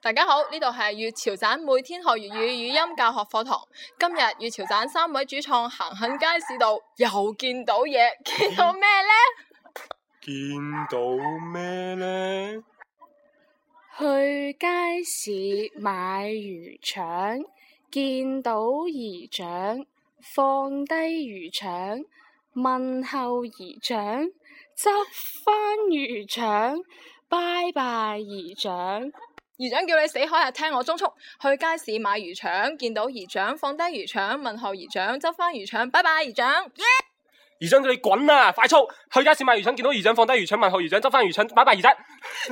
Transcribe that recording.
大家好，呢度係粵潮盞每天學粵語語音教學課堂。今日粵潮盞3位主創行喺街市度，又見到嘢，見到咩呢？ 見到咩呢？ 去街市買魚腸，見到姨丈，放低魚腸，問候姨丈，執返魚腸，拜拜姨丈。 姨丈叫你死開啊！聽我中速，去街市買魚腸，見到姨丈，放低魚腸，問候姨丈，執返魚腸，拜拜姨丈。 姨丈叫你滾啊！快速去街市買魚腸，見到姨丈，放低魚腸，問候姨丈，執返魚腸，拜拜姨丈。